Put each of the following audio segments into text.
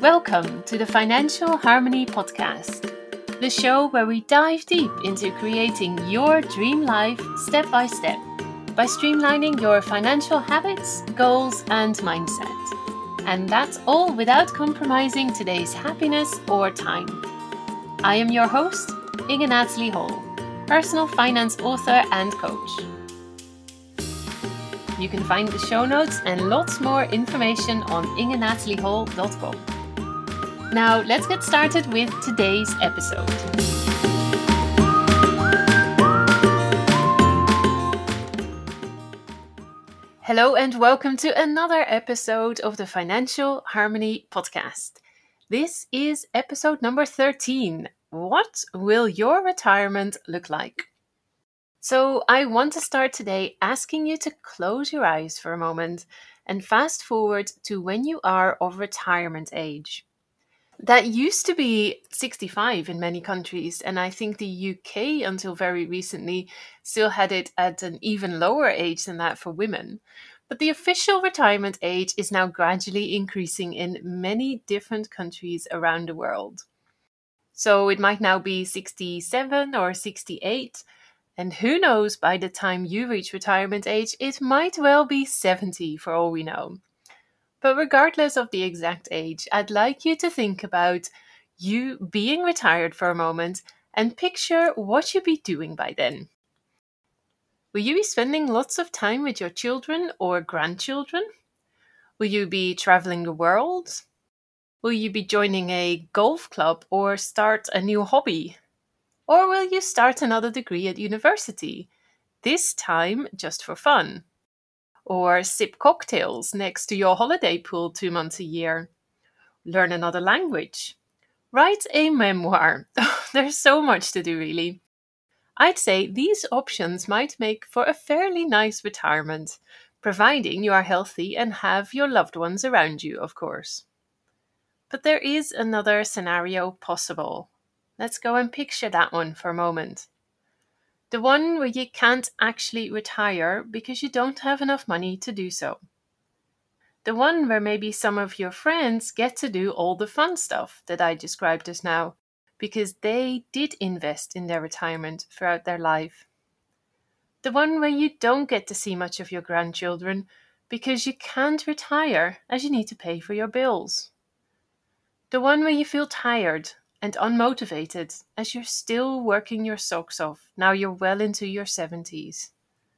Welcome to the Financial Harmony Podcast, the show where we dive deep into creating your dream life step by step by streamlining your financial habits, goals, and mindset. And that's all without compromising today's happiness or time. I am your host, Inge Natalie Hall, personal finance author and coach. You can find the show notes and lots more information on ingenataliehall.com. Now, let's get started with today's episode. Hello and welcome to another episode of the Financial Harmony Podcast. This is episode number 13. What will your retirement look like? So I want to start today asking you to close your eyes for a moment and fast forward to when you are of retirement age. That used to be 65 in many countries, and I think the UK until very recently still had it at an even lower age than that for women. But the official retirement age is now gradually increasing in many different countries around the world. So it might now be 67 or 68, and who knows, by the time you reach retirement age, it might well be 70 for all we know. But regardless of the exact age, I'd like you to think about you being retired for a moment and picture what you'd be doing by then. Will you be spending lots of time with your children or grandchildren? Will you be traveling the world? Will you be joining a golf club or start a new hobby? Or will you start another degree at university, this time just for fun? Or sip cocktails next to your holiday pool 2 months a year? Learn another language? Write a memoir? There's so much to do, really. I'd say these options might make for a fairly nice retirement, providing you are healthy and have your loved ones around you, of course. But there is another scenario possible. Let's go and picture that one for a moment. The one where you can't actually retire because you don't have enough money to do so. The one where maybe some of your friends get to do all the fun stuff that I described just now, because they did invest in their retirement throughout their life. The one where you don't get to see much of your grandchildren because you can't retire as you need to pay for your bills. The one where you feel tired and unmotivated as you're still working your socks off now you're well into your 70s.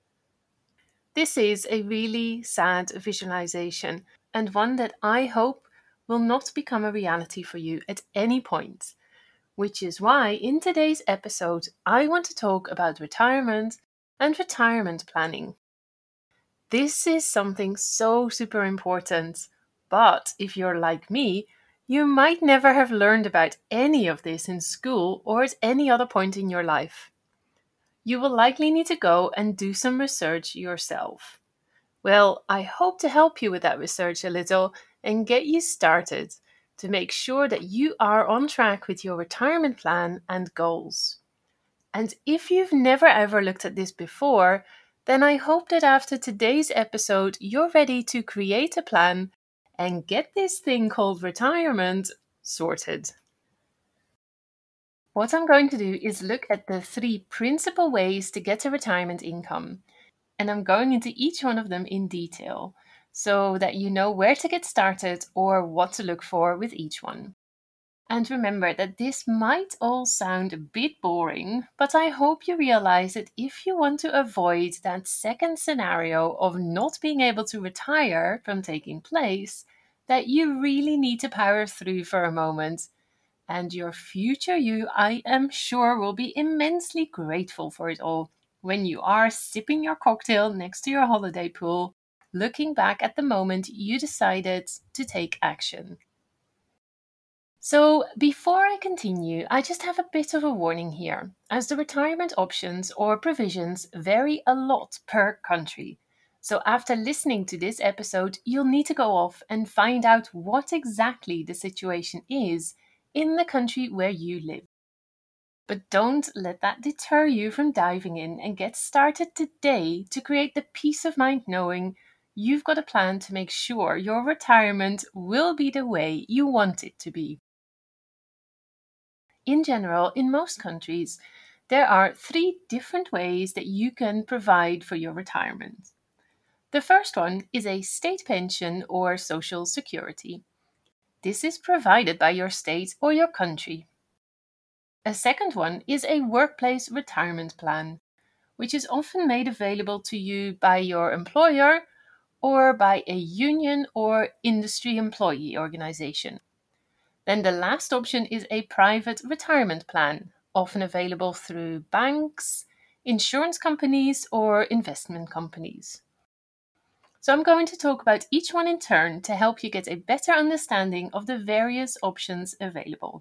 This is a really sad visualization, and one that I hope will not become a reality for you at any point, which is why in today's episode I want to talk about retirement and retirement planning. This is something so super important, but if you're like me, you might never have learned about any of this in school or at any other point in your life. You will likely need to go and do some research yourself. Well, I hope to help you with that research a little and get you started to make sure that you are on track with your retirement plan and goals. And if you've never ever looked at this before, then I hope that after today's episode, you're ready to create a plan and get this thing called retirement sorted. What I'm going to do is look at the 3 principal ways to get a retirement income. And I'm going into each one of them in detail so that you know where to get started or what to look for with each one. And remember that this might all sound a bit boring, but I hope you realize that if you want to avoid that second scenario of not being able to retire from taking place, that you really need to power through for a moment. And your future you, I am sure, will be immensely grateful for it all when you are sipping your cocktail next to your holiday pool, looking back at the moment you decided to take action. So before I continue, I just have a bit of a warning here, as the retirement options or provisions vary a lot per country. So after listening to this episode, you'll need to go off and find out what exactly the situation is in the country where you live. But don't let that deter you from diving in and get started today to create the peace of mind knowing you've got a plan to make sure your retirement will be the way you want it to be. In general, in most countries, there are 3 different ways that you can provide for your retirement. The first one is a state pension or social security. This is provided by your state or your country. A second one is a workplace retirement plan, which is often made available to you by your employer or by a union or industry employee organization. Then the last option is a private retirement plan, often available through banks, insurance companies, or investment companies. So I'm going to talk about each one in turn to help you get a better understanding of the various options available.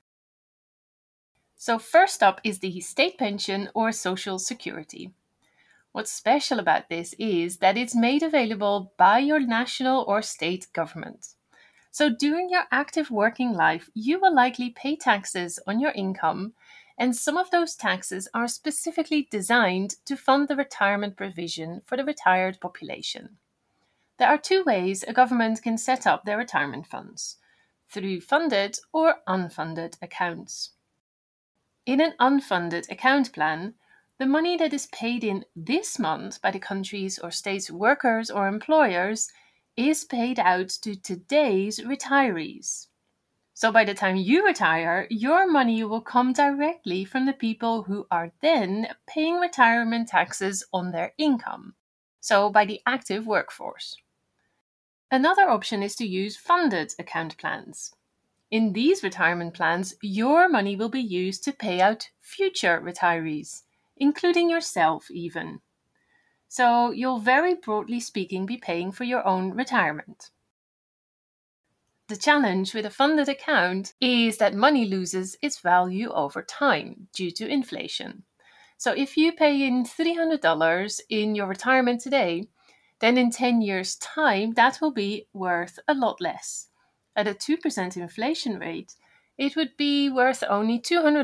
So first up is the state pension or social security. What's special about this is that it's made available by your national or state government. So during your active working life, you will likely pay taxes on your income, and some of those taxes are specifically designed to fund the retirement provision for the retired population. There are 2 ways a government can set up their retirement funds: through funded or unfunded accounts. In an unfunded account plan, the money that is paid in this month by the country's or state's workers or employers is paid out to today's retirees. So by the time you retire, your money will come directly from the people who are then paying retirement taxes on their income, so by the active workforce. Another option is to use funded account plans. In these retirement plans, your money will be used to pay out future retirees, including yourself even. So you'll very broadly speaking be paying for your own retirement. The challenge with a funded account is that money loses its value over time due to inflation. So if you pay in $300 in your retirement today, then in 10 years' time, that will be worth a lot less. At a 2% inflation rate, it would be worth only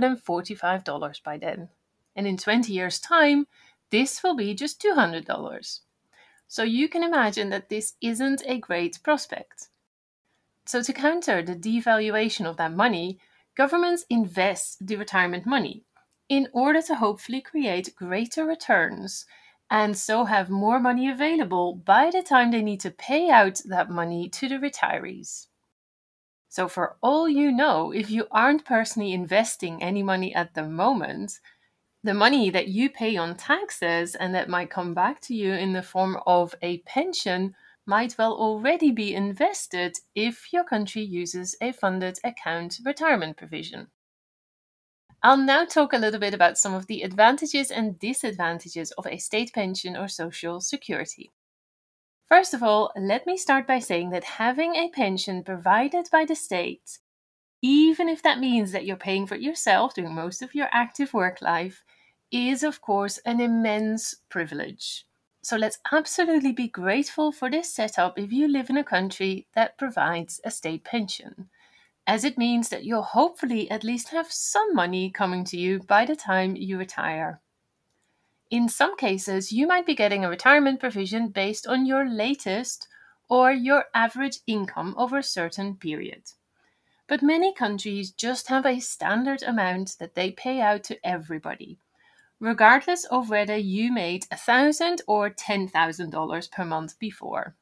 $245 by then. And in 20 years' time, this will be just $200. So you can imagine that this isn't a great prospect. So to counter the devaluation of that money, governments invest the retirement money in order to hopefully create greater returns and so have more money available by the time they need to pay out that money to the retirees. So for all you know, if you aren't personally investing any money at the moment, the money that you pay on taxes and that might come back to you in the form of a pension might well already be invested if your country uses a funded account retirement provision. I'll now talk a little bit about some of the advantages and disadvantages of a state pension or social security. First of all, let me start by saying that having a pension provided by the state, even if that means that you're paying for it yourself during most of your active work life, is of course an immense privilege. So let's absolutely be grateful for this setup if you live in a country that provides a state pension, as it means that you'll hopefully at least have some money coming to you by the time you retire. In some cases, you might be getting a retirement provision based on your latest or your average income over a certain period. But many countries just have a standard amount that they pay out to everybody, regardless of whether you made $1,000 or $10,000 per month before.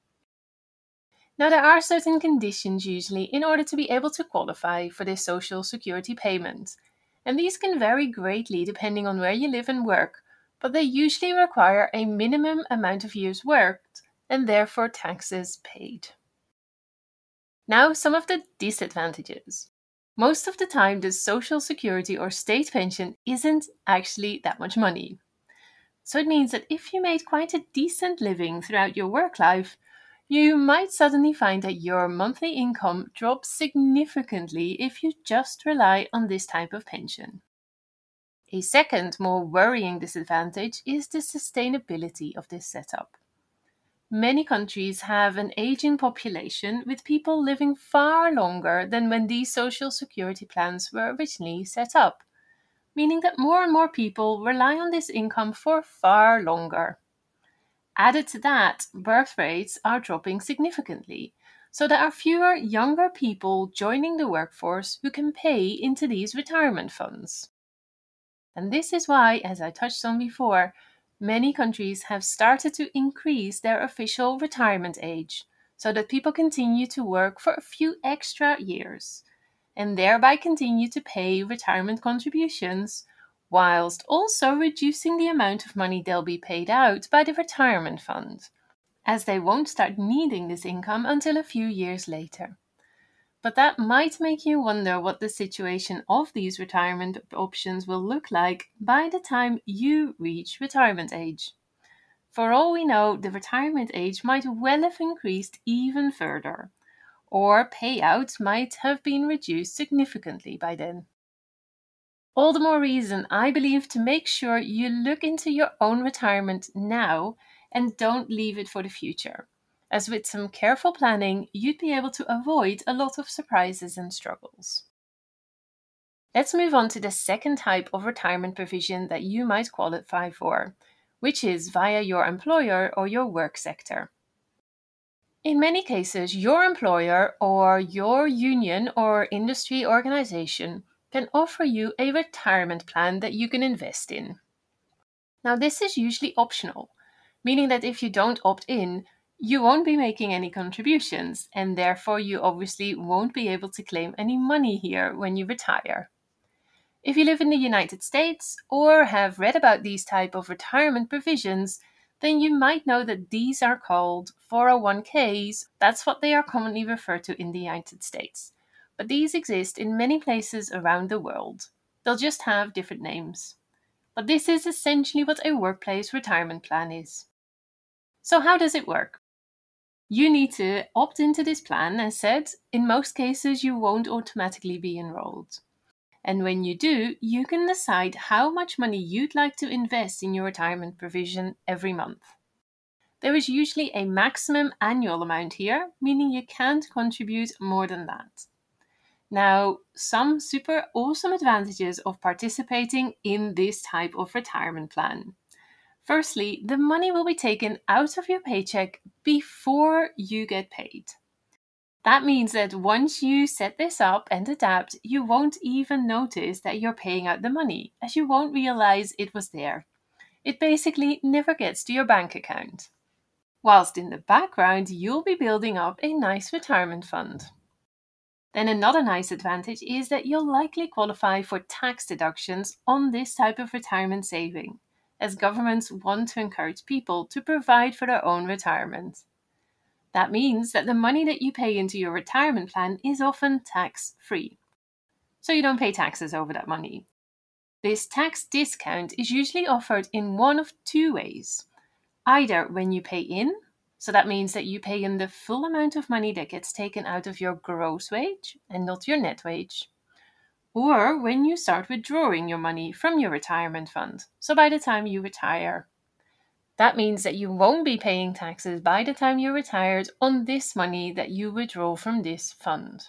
Now, there are certain conditions usually in order to be able to qualify for this social security payment, and these can vary greatly depending on where you live and work, but they usually require a minimum amount of years worked and therefore taxes paid. Now, some of the disadvantages. Most of the time, the social security or state pension isn't actually that much money. So it means that if you made quite a decent living throughout your work life, you might suddenly find that your monthly income drops significantly if you just rely on this type of pension. A second, more worrying disadvantage is the sustainability of this setup. Many countries have an aging population with people living far longer than when these social security plans were originally set up, meaning that more and more people rely on this income for far longer. Added to that, birth rates are dropping significantly, so there are fewer younger people joining the workforce who can pay into these retirement funds. And this is why, as I touched on before, many countries have started to increase their official retirement age so that people continue to work for a few extra years and thereby continue to pay retirement contributions, whilst also reducing the amount of money they'll be paid out by the retirement fund, as they won't start needing this income until a few years later. But that might make you wonder what the situation of these retirement options will look like by the time you reach retirement age. For all we know, the retirement age might well have increased even further, or payouts might have been reduced significantly by then. All the more reason, I believe, to make sure you look into your own retirement now and don't leave it for the future, as with some careful planning, you'd be able to avoid a lot of surprises and struggles. Let's move on to the second type of retirement provision that you might qualify for, which is via your employer or your work sector. In many cases, your employer or your union or industry organization can offer you a retirement plan that you can invest in. Now, this is usually optional, meaning that if you don't opt in, you won't be making any contributions, and therefore you obviously won't be able to claim any money here when you retire. If you live in the United States or have read about these type of retirement provisions, then you might know that these are called 401ks. That's what they are commonly referred to in the United States. But these exist in many places around the world. They'll just have different names. But this is essentially what a workplace retirement plan is. So how does it work? You need to opt into this plan. As said, in most cases you won't automatically be enrolled. And when you do, you can decide how much money you'd like to invest in your retirement provision every month. There is usually a maximum annual amount here, meaning you can't contribute more than that. Now, some super awesome advantages of participating in this type of retirement plan. Firstly, the money will be taken out of your paycheck before you get paid. That means that once you set this up and adapt, you won't even notice that you're paying out the money, as you won't realize it was there. It basically never gets to your bank account. Whilst in the background, you'll be building up a nice retirement fund. Then another nice advantage is that you'll likely qualify for tax deductions on this type of retirement saving, as governments want to encourage people to provide for their own retirement. That means that the money that you pay into your retirement plan is often tax-free. So you don't pay taxes over that money. This tax discount is usually offered in one of two ways. Either when you pay in, so that means that you pay in the full amount of money that gets taken out of your gross wage and not your net wage. Or when you start withdrawing your money from your retirement fund, so by the time you retire. That means that you won't be paying taxes by the time you're retired on this money that you withdraw from this fund.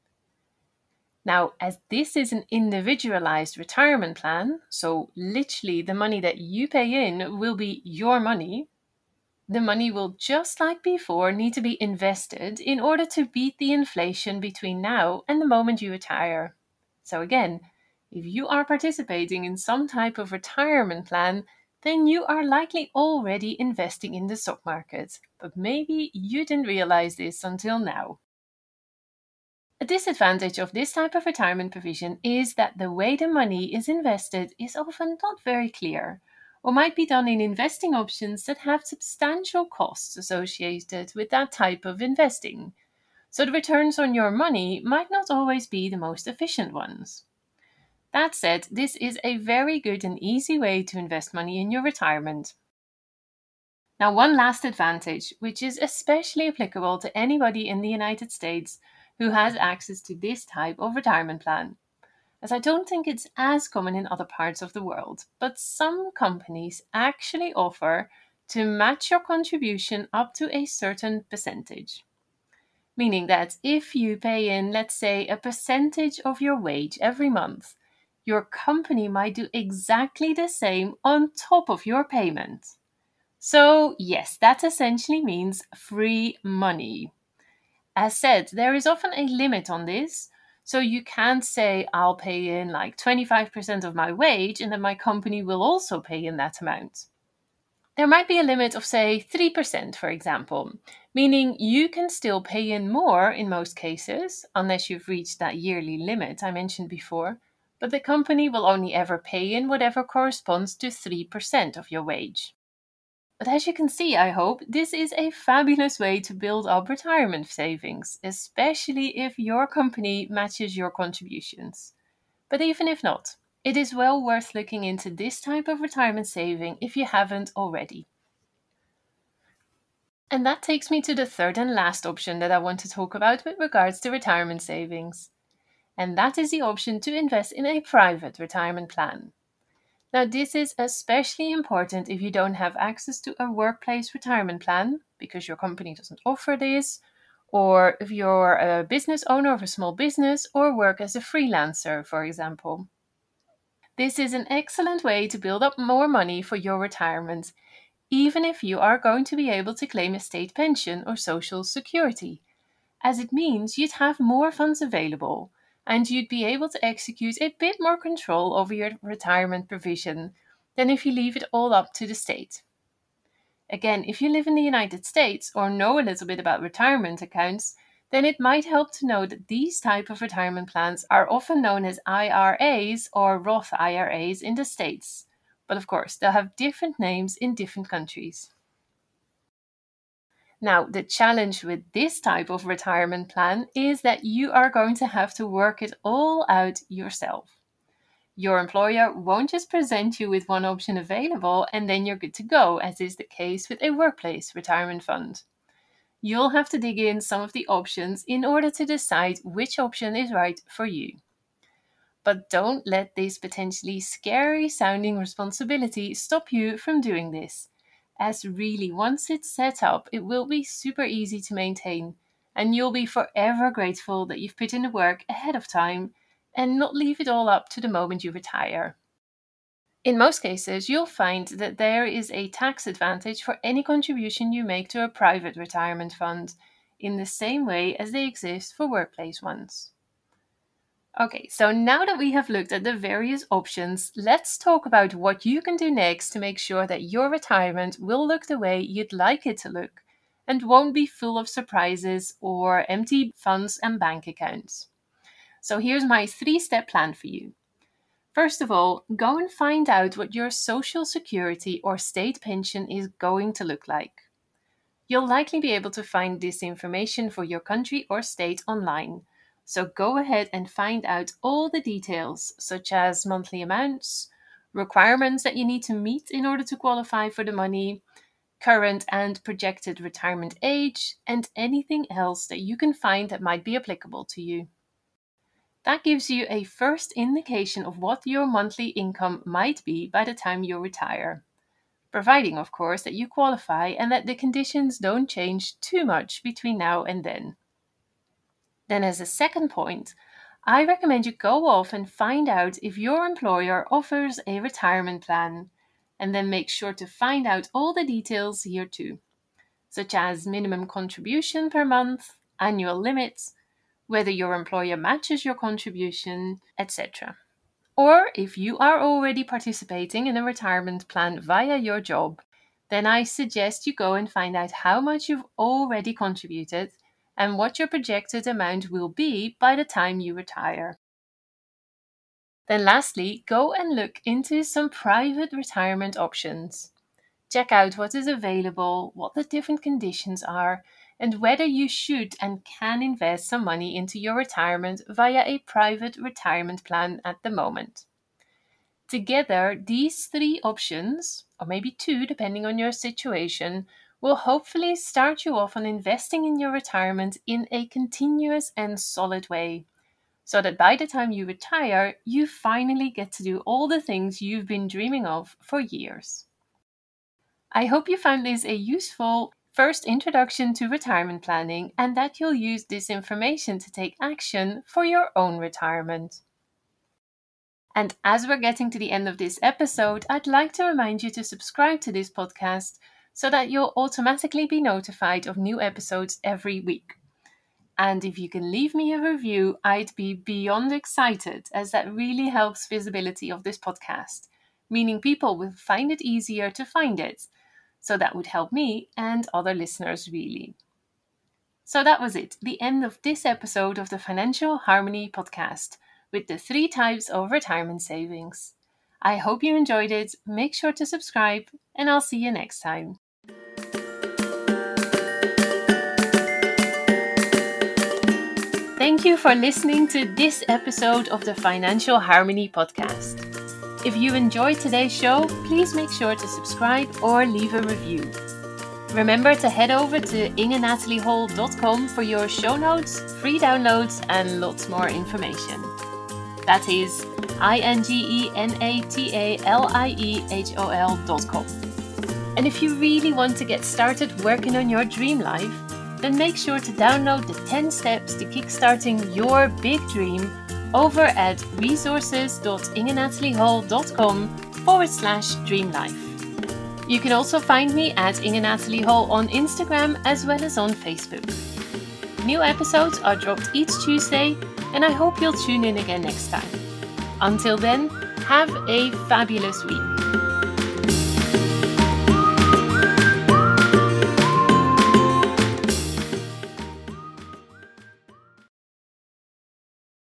Now, as this is an individualized retirement plan, so literally the money that you pay in will be your money, the money will, just like before, need to be invested in order to beat the inflation between now and the moment you retire. So again, if you are participating in some type of retirement plan, then you are likely already investing in the stock market, but maybe you didn't realize this until now. A disadvantage of this type of retirement provision is that the way the money is invested is often not very clear, or might be done in investing options that have substantial costs associated with that type of investing. So the returns on your money might not always be the most efficient ones. That said, this is a very good and easy way to invest money in your retirement. Now, one last advantage, which is especially applicable to anybody in the United States who has access to this type of retirement plan, as I don't think it's as common in other parts of the world, but some companies actually offer to match your contribution up to a certain percentage. Meaning that if you pay in, let's say, a percentage of your wage every month, your company might do exactly the same on top of your payment. So, yes, that essentially means free money. As said, there is often a limit on this. So you can't say, I'll pay in like 25% of my wage and then my company will also pay in that amount. There might be a limit of, say, 3%, for example, meaning you can still pay in more in most cases, unless you've reached that yearly limit I mentioned before, but the company will only ever pay in whatever corresponds to 3% of your wage. But as you can see, I hope, this is a fabulous way to build up retirement savings, especially if your company matches your contributions. But even if not, it is well worth looking into this type of retirement saving if you haven't already. And that takes me to the third and last option that I want to talk about with regards to retirement savings. And that is the option to invest in a private retirement plan. Now, this is especially important if you don't have access to a workplace retirement plan because your company doesn't offer this, or if you're a business owner of a small business or work as a freelancer, for example. This is an excellent way to build up more money for your retirement, even if you are going to be able to claim a state pension or social security, as it means you'd have more funds available and you'd be able to execute a bit more control over your retirement provision than if you leave it all up to the state. Again, if you live in the United States or know a little bit about retirement accounts, then it might help to know that these type of retirement plans are often known as IRAs or Roth IRAs in the States. But of course, they'll have different names in different countries. Now, the challenge with this type of retirement plan is that you are going to have to work it all out yourself. Your employer won't just present you with one option available and then you're good to go, as is the case with a workplace retirement fund. You'll have to dig in some of the options in order to decide which option is right for you. But don't let this potentially scary sounding responsibility stop you from doing this, as really once it's set up, it will be super easy to maintain, and you'll be forever grateful that you've put in the work ahead of time and not leave it all up to the moment you retire. In most cases, you'll find that there is a tax advantage for any contribution you make to a private retirement fund, in the same way as they exist for workplace ones. Okay, so now that we have looked at the various options, let's talk about what you can do next to make sure that your retirement will look the way you'd like it to look and won't be full of surprises or empty funds and bank accounts. So here's my 3-step plan for you. First of all, go and find out what your social security or state pension is going to look like. You'll likely be able to find this information for your country or state online. So go ahead and find out all the details, such as monthly amounts, requirements that you need to meet in order to qualify for the money, current and projected retirement age, and anything else that you can find that might be applicable to you. That gives you a first indication of what your monthly income might be by the time you retire, providing, of course, that you qualify and that the conditions don't change too much between now and then. Then, as a second point, I recommend you go off and find out if your employer offers a retirement plan, and then make sure to find out all the details here too, such as minimum contribution per month, annual limits, whether your employer matches your contribution, etc. Or if you are already participating in a retirement plan via your job, then I suggest you go and find out how much you've already contributed and what your projected amount will be by the time you retire. Then lastly, go and look into some private retirement options. Check out what is available, what the different conditions are, and whether you should and can invest some money into your retirement via a private retirement plan at the moment. Together, these 3 options, or maybe 2 depending on your situation, will hopefully start you off on investing in your retirement in a continuous and solid way, so that by the time you retire, you finally get to do all the things you've been dreaming of for years. I hope you found this a useful first introduction to retirement planning and that you'll use this information to take action for your own retirement. And as we're getting to the end of this episode, I'd like to remind you to subscribe to this podcast so that you'll automatically be notified of new episodes every week. And if you can leave me a review, I'd be beyond excited, as that really helps visibility of this podcast, meaning people will find it easier to find it. So that would help me and other listeners really. So that was it, the end of this episode of the Financial Harmony podcast with the 3 types of retirement savings. I hope you enjoyed it. Make sure to subscribe, and I'll see you next time. Thank you for listening to this episode of the Financial Harmony podcast. If you enjoyed today's show, please make sure to subscribe or leave a review. Remember to head over to ingenataliehall.com for your show notes, free downloads, and lots more information. That is ingenataliehall.com. And if you really want to get started working on your dream life, then make sure to download the 10 steps to kickstarting your big dream over at resources.ingenataliehall.com/dreamlife. You can also find me at Inge Natalie Hall on Instagram as well as on Facebook. New episodes are dropped each Tuesday, and I hope you'll tune in again next time. Until then, have a fabulous week.